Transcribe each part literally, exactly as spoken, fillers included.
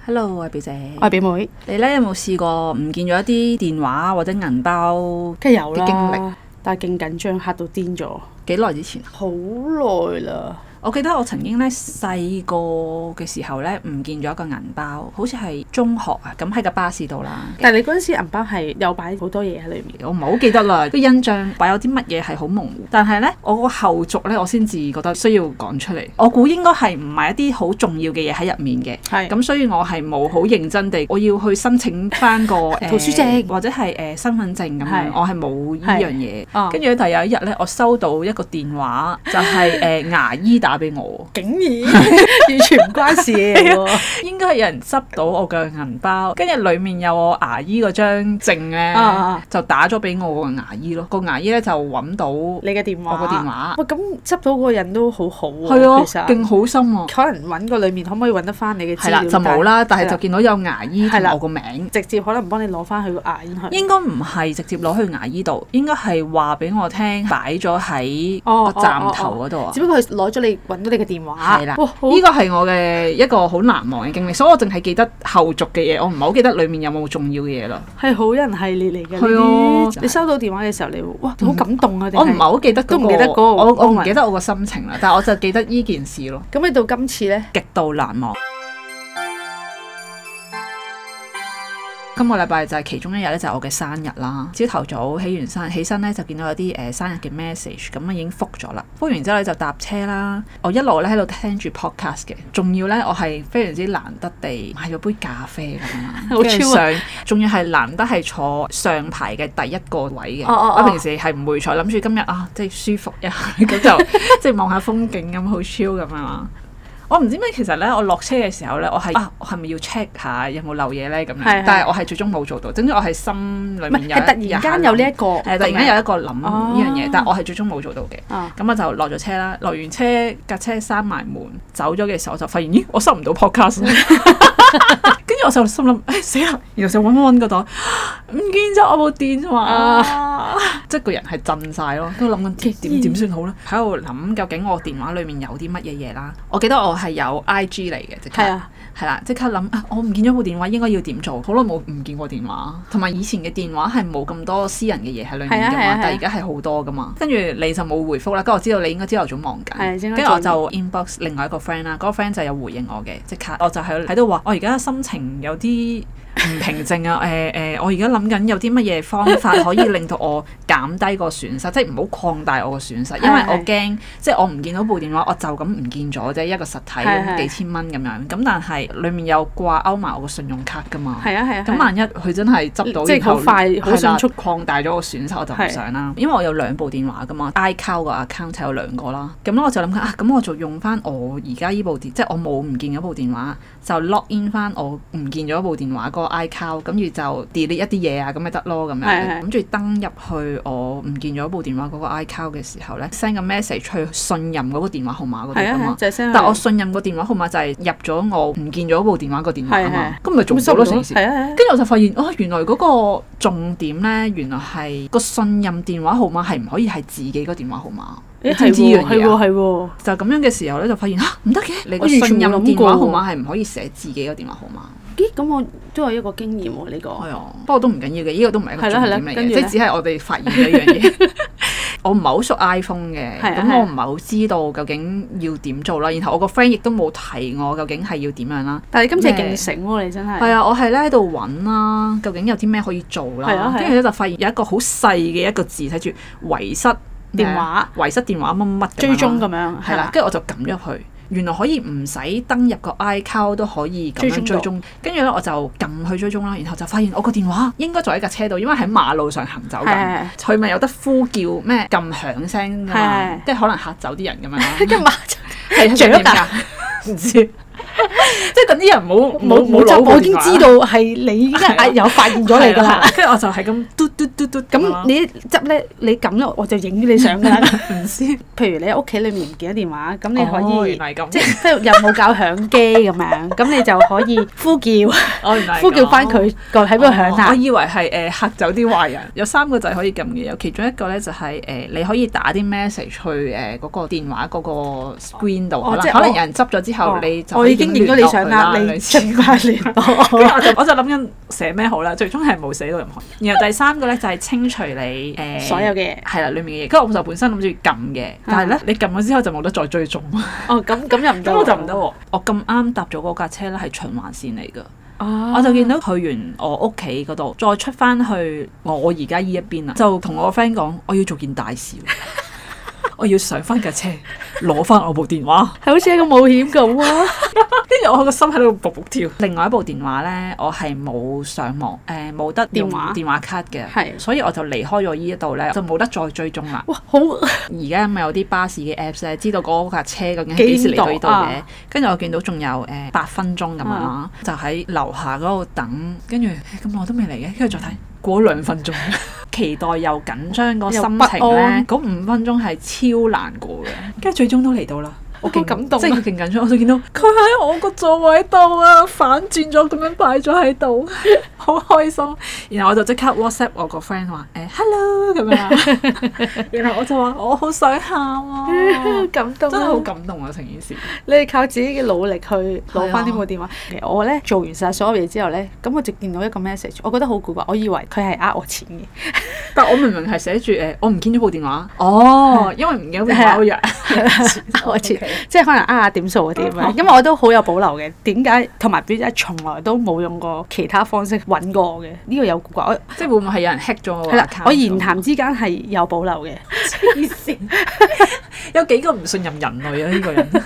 Hello，我係表姐， 我係表妹。 你咧有冇試過唔見咗一啲電話或者銀包梗係有啦， 經歷？ 但係勁緊張，嚇到癲咗。 幾耐之前？ 好耐啦。 我記得我曾經咧細個嘅時候咧唔見咗一個銀包，好似係中學啊，咁喺個巴士度啦。 但係你嗰陣時銀包係有擺好多嘢喺裏面， 我唔係好記得啦。個印象擺有啲乜嘢係好模糊，但係咧我個後續咧我先至覺得需要講出嚟。我估應該係唔係一啲好重要嘅嘢喺入面嘅，係咁，所以我係冇好認真地我要去申請翻個圖書證、呃、 或者係誒、呃、身份證咁樣，我係冇呢樣嘢。跟住第有一日咧，我收到一個電話，就係、是、誒、呃、牙醫打俾我， 竟然完全唔關事嘅喎， 應該係有人執到我嘅銀包，跟住裡面有我牙醫嗰張證咧，啊、就打咗俾我個牙醫咯。個牙醫咧就揾到你嘅電話， 我個電話。 喂，咁執到嗰個人都好好喎， 係啊， 其實勁好心啊。 可能揾個裡面可唔可以揾得翻你嘅資料？係啦， 就冇啦，但係就見到有牙醫同我個名， 直接可能幫你攞翻去個牙醫去。應該唔係直接攞去牙醫度，應該係話俾我聽擺咗喺個站頭嗰度啊。 只不過係攞咗你揾到你嘅電話。係啦， 呢個係我嘅一個好難忘嘅經歷，所以我淨係記得後續嘅嘢，我唔係好記得裡面有冇重要嘅嘢咯。 係好人系列嚟嘅。 係啊， 你收到電話嘅時候，你哇好感動啊！ 我唔係好記得，都唔記得嗰個，我我唔記得我個心情啦，但係我就記得呢件事咯。 咁你到今次咧， 極度難忘。今個禮拜就係其中一日咧，就係我嘅生日啦。朝頭早起完身，起身咧就見到有啲誒、呃、生日嘅 message，咁啊已經覆咗啦。覆完之後咧就搭車啦。我一路咧喺度聽住 podcast 嘅，仲要咧我係非常之難得地買咗杯咖啡咁樣，好超啊！仲要係難得係坐上排嘅第一個位嘅。Oh, oh, oh. 我平時係唔會坐，諗住今日啊即係舒服一下，咁就即係望下風景咁，好 chill 咁樣。我唔知咩，其實咧，我落車嘅時候咧，我係啊，我係咪要 check 下有冇漏嘢咧咁樣？是是但係我係最終冇做到，總之我係心裡面有，突然間有呢一個，誒突然間有一個諗呢樣嘢，但係我係最終冇做到嘅。咁、哦、我就落咗車啦，落完車架車閂埋門，走咗嘅時候我就發現，咦，我收唔到 podcast。跟住我就心諗，誒、哎、死啦！然後就揾揾揾個袋，唔見咗我部電話，啊、即係個人係震晒咯，都諗緊點點算好咧？喺度諗究竟我電話裡面有啲乜嘢嘢啦？我記得我係有 I G 嚟嘅，即刻係啦，即刻諗啊！我唔見咗部電話，應該要點做？好耐冇唔見過電話，同埋以前嘅電話係冇咁多私人嘅嘢喺裡面噶嘛，但係而家係好多噶嘛。跟住你就冇回覆啦，跟住我知道你應該朝頭早忙緊，跟住我就 inbox 另外一個 friend 啦，嗰、嗰個 friend 就有回應我嘅，即刻我就喺喺度話，我而家心情有啲唔平靜啊！誒、呃、誒、呃，我而家諗緊有啲乜嘢方法可以令到我減低個損失，即係唔好擴大我個損失，因為我驚即係我唔見到部電話，我就咁唔見咗啫，一個實體咁幾千蚊咁樣。咁但係裡面有掛鈎埋我個信用卡㗎嘛。係啊係啊。咁萬一佢真係執到，即係好快好迅速擴大咗個損失，我就唔想啦。因為我有兩部電話㗎嘛 ，iCloud 個 account 有兩個啦。咁我就諗緊啊，咁我就用翻我而家依部電，即係我冇唔見咗部電話，就 log in 翻我唔見咗部電話個 iCloud，跟住就 delete 一啲嘢啊，咁咪得咯咁樣。諗住登入去我唔見咗部電話嗰個 iCloud 嘅時候咧 ，send 個 message 去信任嗰個電話號碼嗰度噶嘛。但我信任個電話號碼就係入咗我唔見咗部電話個電話啊嘛。咁咪做唔到咯成件事。跟住我就發現，哦，原來嗰個重點咧，原來係個信任電話號碼係唔可以係自己個電話號碼。你知唔知呢樣嘢啊？係喎，就咁樣嘅時候咧，就發現嚇唔得嘅，你個信任電話號碼係唔可以寫自己個電話號碼。 咦，咁我都有一個經驗喎，呢個係啊，不過都唔緊要嘅，呢個都唔係一個重點嚟嘅，即係只係我哋發現咗一樣嘢。我唔係好熟 iPhone 嘅，咁我唔係好知道究竟要點做啦。然後我個 friend 亦都冇提我究竟係要點樣啦。但係今次勁醒喎，你真係係啊！我係咧喺度揾啦，究竟有啲咩可以做啦？跟住咧就發現有一個好細嘅一個字睇住遺失電話、遺失電話乜乜追蹤咁樣，係啦。 跟住我就撳入去。原來可以唔使登入個 iCloud 都可以咁樣追蹤，跟住咧我就撳去追蹤啦，然後就發現我個電話應該在喺架車度，因為喺馬路上行走緊，佢咪有得呼叫咩咁響聲㗎嘛，即係可能嚇走啲人咁樣啦。跟住馬係著㗎，唔知。即係等啲人冇冇冇攞， 我已經知道係你已經有發現咗你㗎啦。 跟住我就係咁嘟嘟嘟嘟咁，你執咧，你撳咧，我就影你相㗎啦。唔知，譬如你喺屋企裏面唔見咗電話，咁你可以即係即係又冇搞響機咁樣，咁你就可以呼叫，呼叫翻佢個喺邊度響啊。 我以為係誒嚇走啲壞人。有三個掣可以撳嘅，有其中一個咧就係誒你可以打啲 message 去誒嗰個電話嗰個 screen 度，可能可能有人執咗之後你就已經經影咗你相啦，你盡快聯絡。 跟住我就我就諗緊寫咩好啦，最終係冇寫到任何。然後第三個咧就係清除你誒所有嘅嘢，係啦，裡面嘅嘢。跟住我就本身諗住撳嘅，但係咧你撳咗之後就冇得再追蹤。 哦，咁咁又唔得， 咁我就唔得喎。我咁啱搭咗嗰架車咧係循環線嚟㗎。Oh. 我就見到去完我屋企嗰度，再出翻去我而家依一邊啦，就同我個 friend 講，我要做件大事，我要上翻架車，攞翻我部電話， 係好似一個冒險咁啊！ 跟住我個心喺度卜卜跳。另外一部電話咧，我係冇上網，誒、呃、冇得用電話電話卡嘅，係，所以我就離開咗依一度咧，就冇得再追蹤啦。哇，好！而家咪有啲巴士嘅 apps 咧，知道嗰架車究竟幾時嚟到呢度嘅。跟住、啊、我見到仲有誒八、呃、分鐘咁樣啦，啊、就喺樓下嗰度等，跟住咁耐都未嚟嘅，跟住再睇。過兩分鐘，期待又緊張個心情咧，嗰五分鐘係超難過嘅，跟住最終都嚟到啦。我好感動，即係勁緊張，我就見到佢喺我個座位度啊，反轉咗咁樣擺咗喺度，好開心。然後我就即刻 WhatsApp 我個 friend 話誒 hello 咁樣，然後我就話我好想喊啊，感動，真係好感動啊成件事。 你係靠自己嘅努力去攞翻呢部電話。其實我咧做完晒所有嘢之後咧，咁我就見到一個 message，我覺得好古怪，我以為佢係呃我錢嘅， 但我明明係寫住誒我唔見咗部電話，哦，因為唔見咗電話好弱， 我錢。即係可能呃下點數嗰啲咁樣，因為我都好有保留嘅。點解同埋表姐從來都冇用過其他方式揾過我嘅？呢、這個有古怪， 即係會唔會係有人 hack 咗我？ 係啦，我言談之間係有保留嘅。 黐線，有幾個唔信任人類啊！呢、這個人。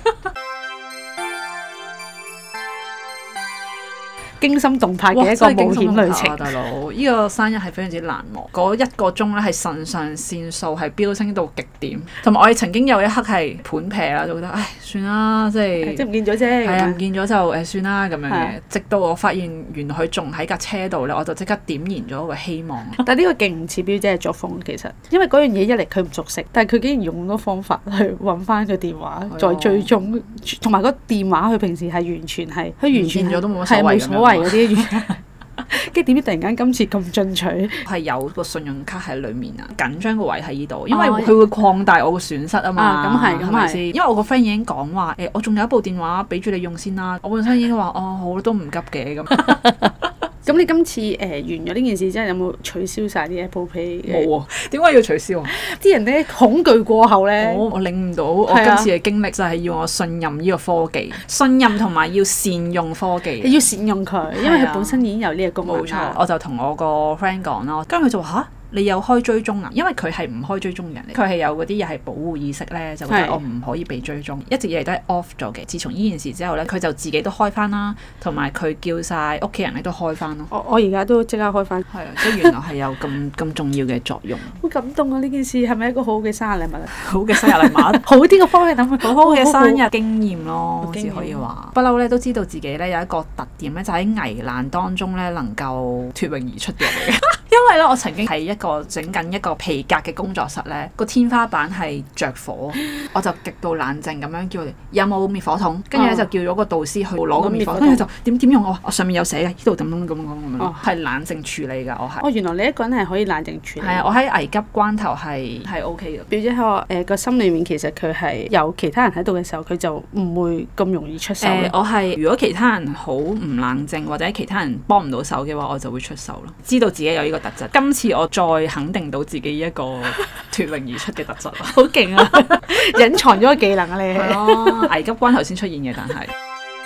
驚心動魄嘅一個冒險旅程， 啊、大佬！呢、這個生日係非常之難忘。嗰一個鐘咧係腎上腺素係飆升到極點，同埋我哋曾經有一刻係盤劈啦，就覺得唉算啦，即係即係唔見咗啫。係啊，唔見咗就誒算啦咁樣嘅。的直到我發現原來佢仲喺架車度咧，我就即刻點燃咗一個希望。 但係呢個勁唔似表姐嘅作風，其實因為嗰樣嘢一嚟佢唔熟悉，但係佢竟然用咁多方法去揾翻個電話，的再追蹤，同埋個電話佢平時係完全係佢完全咗都冇乜所謂。 嗰啲嘢，跟住點知突然間今次咁進取， 係有個信用卡喺裡面啊！緊張個位喺呢度，因為佢會擴大我個損失啊嘛。咁係，咁係先。因為我個 friend 已經講話誒，我仲有一部電話俾住你用先啦。我本身已經話哦，好都唔急嘅咁。 咁你今次誒、呃、完咗呢件事之後，有冇取消晒啲 Apple Pay？ 冇啊！點解要取消啊？ 啲人咧恐懼過後咧， 我我領悟到我今次嘅經歷就係要我信任呢個科技，啊、信任同埋要善用科技。 你要善用佢，因為佢本身已經有呢個功能。冇錯， 我就同我個 friend 講咯，跟住佢就話嚇。你有開追蹤啊？因為佢係唔開追蹤嘅人嚟，佢係有嗰啲又係保護意識咧，就覺得我唔可以被追蹤，一直以嚟都係 off 咗嘅。自從呢件事之後咧，佢就自己都開翻啦，同埋佢叫晒屋企人咧都開翻咯。 我我而家都即刻開翻。 係啊，即係原來係有咁咁重要嘅作用。 好感動啊！呢件事係咪一個好好嘅生日禮物啊？ 好嘅生日禮物，好啲嘅方式諗，好好嘅生日經驗咯，只可以話。不嬲咧都知道自己咧有一個特點咧，就喺危難當中咧能夠脫穎而出嘅嚟嘅。因為咧，我曾經喺一個整緊一個皮革嘅工作室咧，個天花板係着火，我就極度冷靜咁樣叫佢哋有冇滅火筒，跟住咧就叫咗個導師去攞個滅火筒，跟住就點點用我，我上面有寫嘅，呢度咁樣咁樣咁樣，係冷靜處理㗎，我係。哦，原來你一個人係可以冷靜處理。係啊，我喺危急關頭係係 OK 嘅。表姐喺我誒個心裏面，其實佢係有其他人喺度嘅時候，佢就唔會咁容易出手。誒，我係如果其他人好唔冷靜，或者其他人幫唔到手嘅話，我就會出手咯。知道自己有呢個特質，今次我再肯定到自己一個脫穎而出嘅特質啦，好勁啊！隱藏咗個技能啊，你係咯，危急關頭先出現嘅，但係。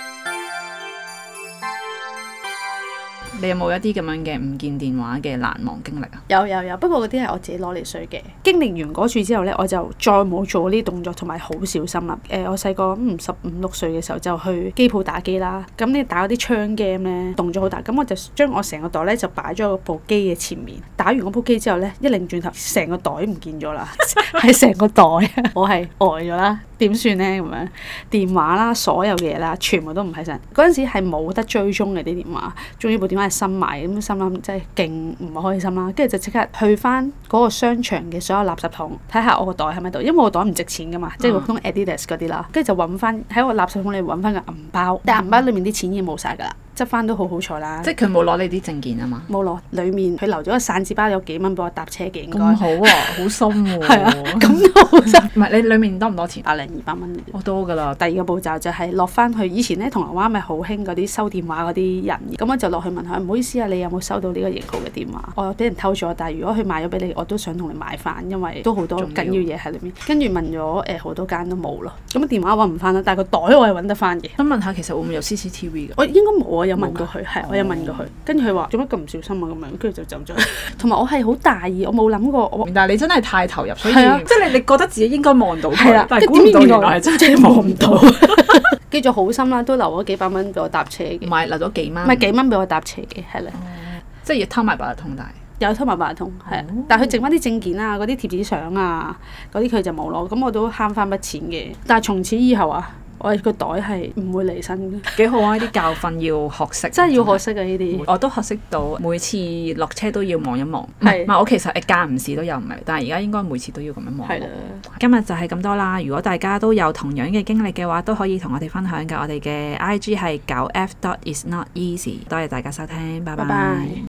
你有冇一啲咁樣嘅唔見電話嘅難忘經歷啊？有有有，不過嗰啲係我自己攞嚟衰嘅。經歷完嗰次之後咧，我就再冇做呢啲動作，同埋好小心啦。誒、呃，我細個五十五六歲嘅時候就去機鋪打機啦。咁你打嗰啲槍 game 咧，動作好大。咁我就將我成個袋咧就擺咗喺部機嘅前面。打完嗰部機之後咧，一擰轉頭，成個袋唔見咗啦，係成個袋，我係呆咗啦。點算咧？咁樣電話啦，所有嘢啦，全部都唔喺身。嗰陣時係冇得追蹤嘅啲電話，仲要部電話係新買，咁心諗真係勁唔開心啦。跟住就即刻去翻嗰個商場嘅所有垃圾桶，睇下我個袋喺咪度，因為我個袋唔值錢噶嘛，即係普通 Adidas 嗰啲啦。跟住就揾翻喺我垃圾桶裏揾翻個銀包，但係銀包裏面啲錢已經冇晒㗎啦。 執翻都好好彩啦。 即係佢冇攞你啲證件啊嘛？ 冇攞，裡面佢留咗個散紙包，有幾蚊俾我搭車嘅應該。 咁好啊，好心喎。 係啊，咁都好心。 唔係你裡面多唔多錢？ 百零二百蚊。 我多㗎啦。 第二個步驟就係落翻去，以前咧銅鑼灣咪好興嗰啲收電話嗰啲人，咁我就落去問佢，唔好意思啊，你有冇收到呢個型號嘅電話？我俾人偷咗，但係如果佢賣咗俾你，我都想同你買翻，因為都好多緊要嘢喺裏面。跟住問咗誒好多間都冇咯，咁電話揾唔翻啦，但係個袋我係揾得翻嘅。 想問下其實會唔會有 C C T V 㗎？ 我應該冇啊，有問過佢，係我有問過佢，跟住佢話做乜咁唔小心啊咁樣，跟住就走咗。同埋我係好大意，我冇諗過我。 但係你真係太投入，所以即係你你覺得自己應該望到佢，但係估唔到原來係真係望唔到。 記住好心啦，都留咗幾百蚊俾我搭車嘅。 唔係留咗幾蚊？ 唔係幾蚊俾我搭車嘅，係啦。 即係要偷埋八達通，但係有偷埋八達通，係啊。但係佢剩翻啲證件啊、嗰啲貼紙相啊、嗰啲佢就冇咯。咁我都慳翻筆錢嘅。但係從此以後啊，我個袋係唔會離身嘅。 幾好啊！呢啲教訓要學識， 真係要學識啊！呢啲我都學識到，每次落車都要望一望。 係， 唔係我其實誒間唔時都有唔係，但係而家應該每次都要咁樣望。 係啦。 今日就係咁多啦。如果大家都有同樣嘅經歷嘅話，都可以同我哋分享㗎。我哋嘅 I G 係九 F dot is not easy。多謝大家收聽，拜拜。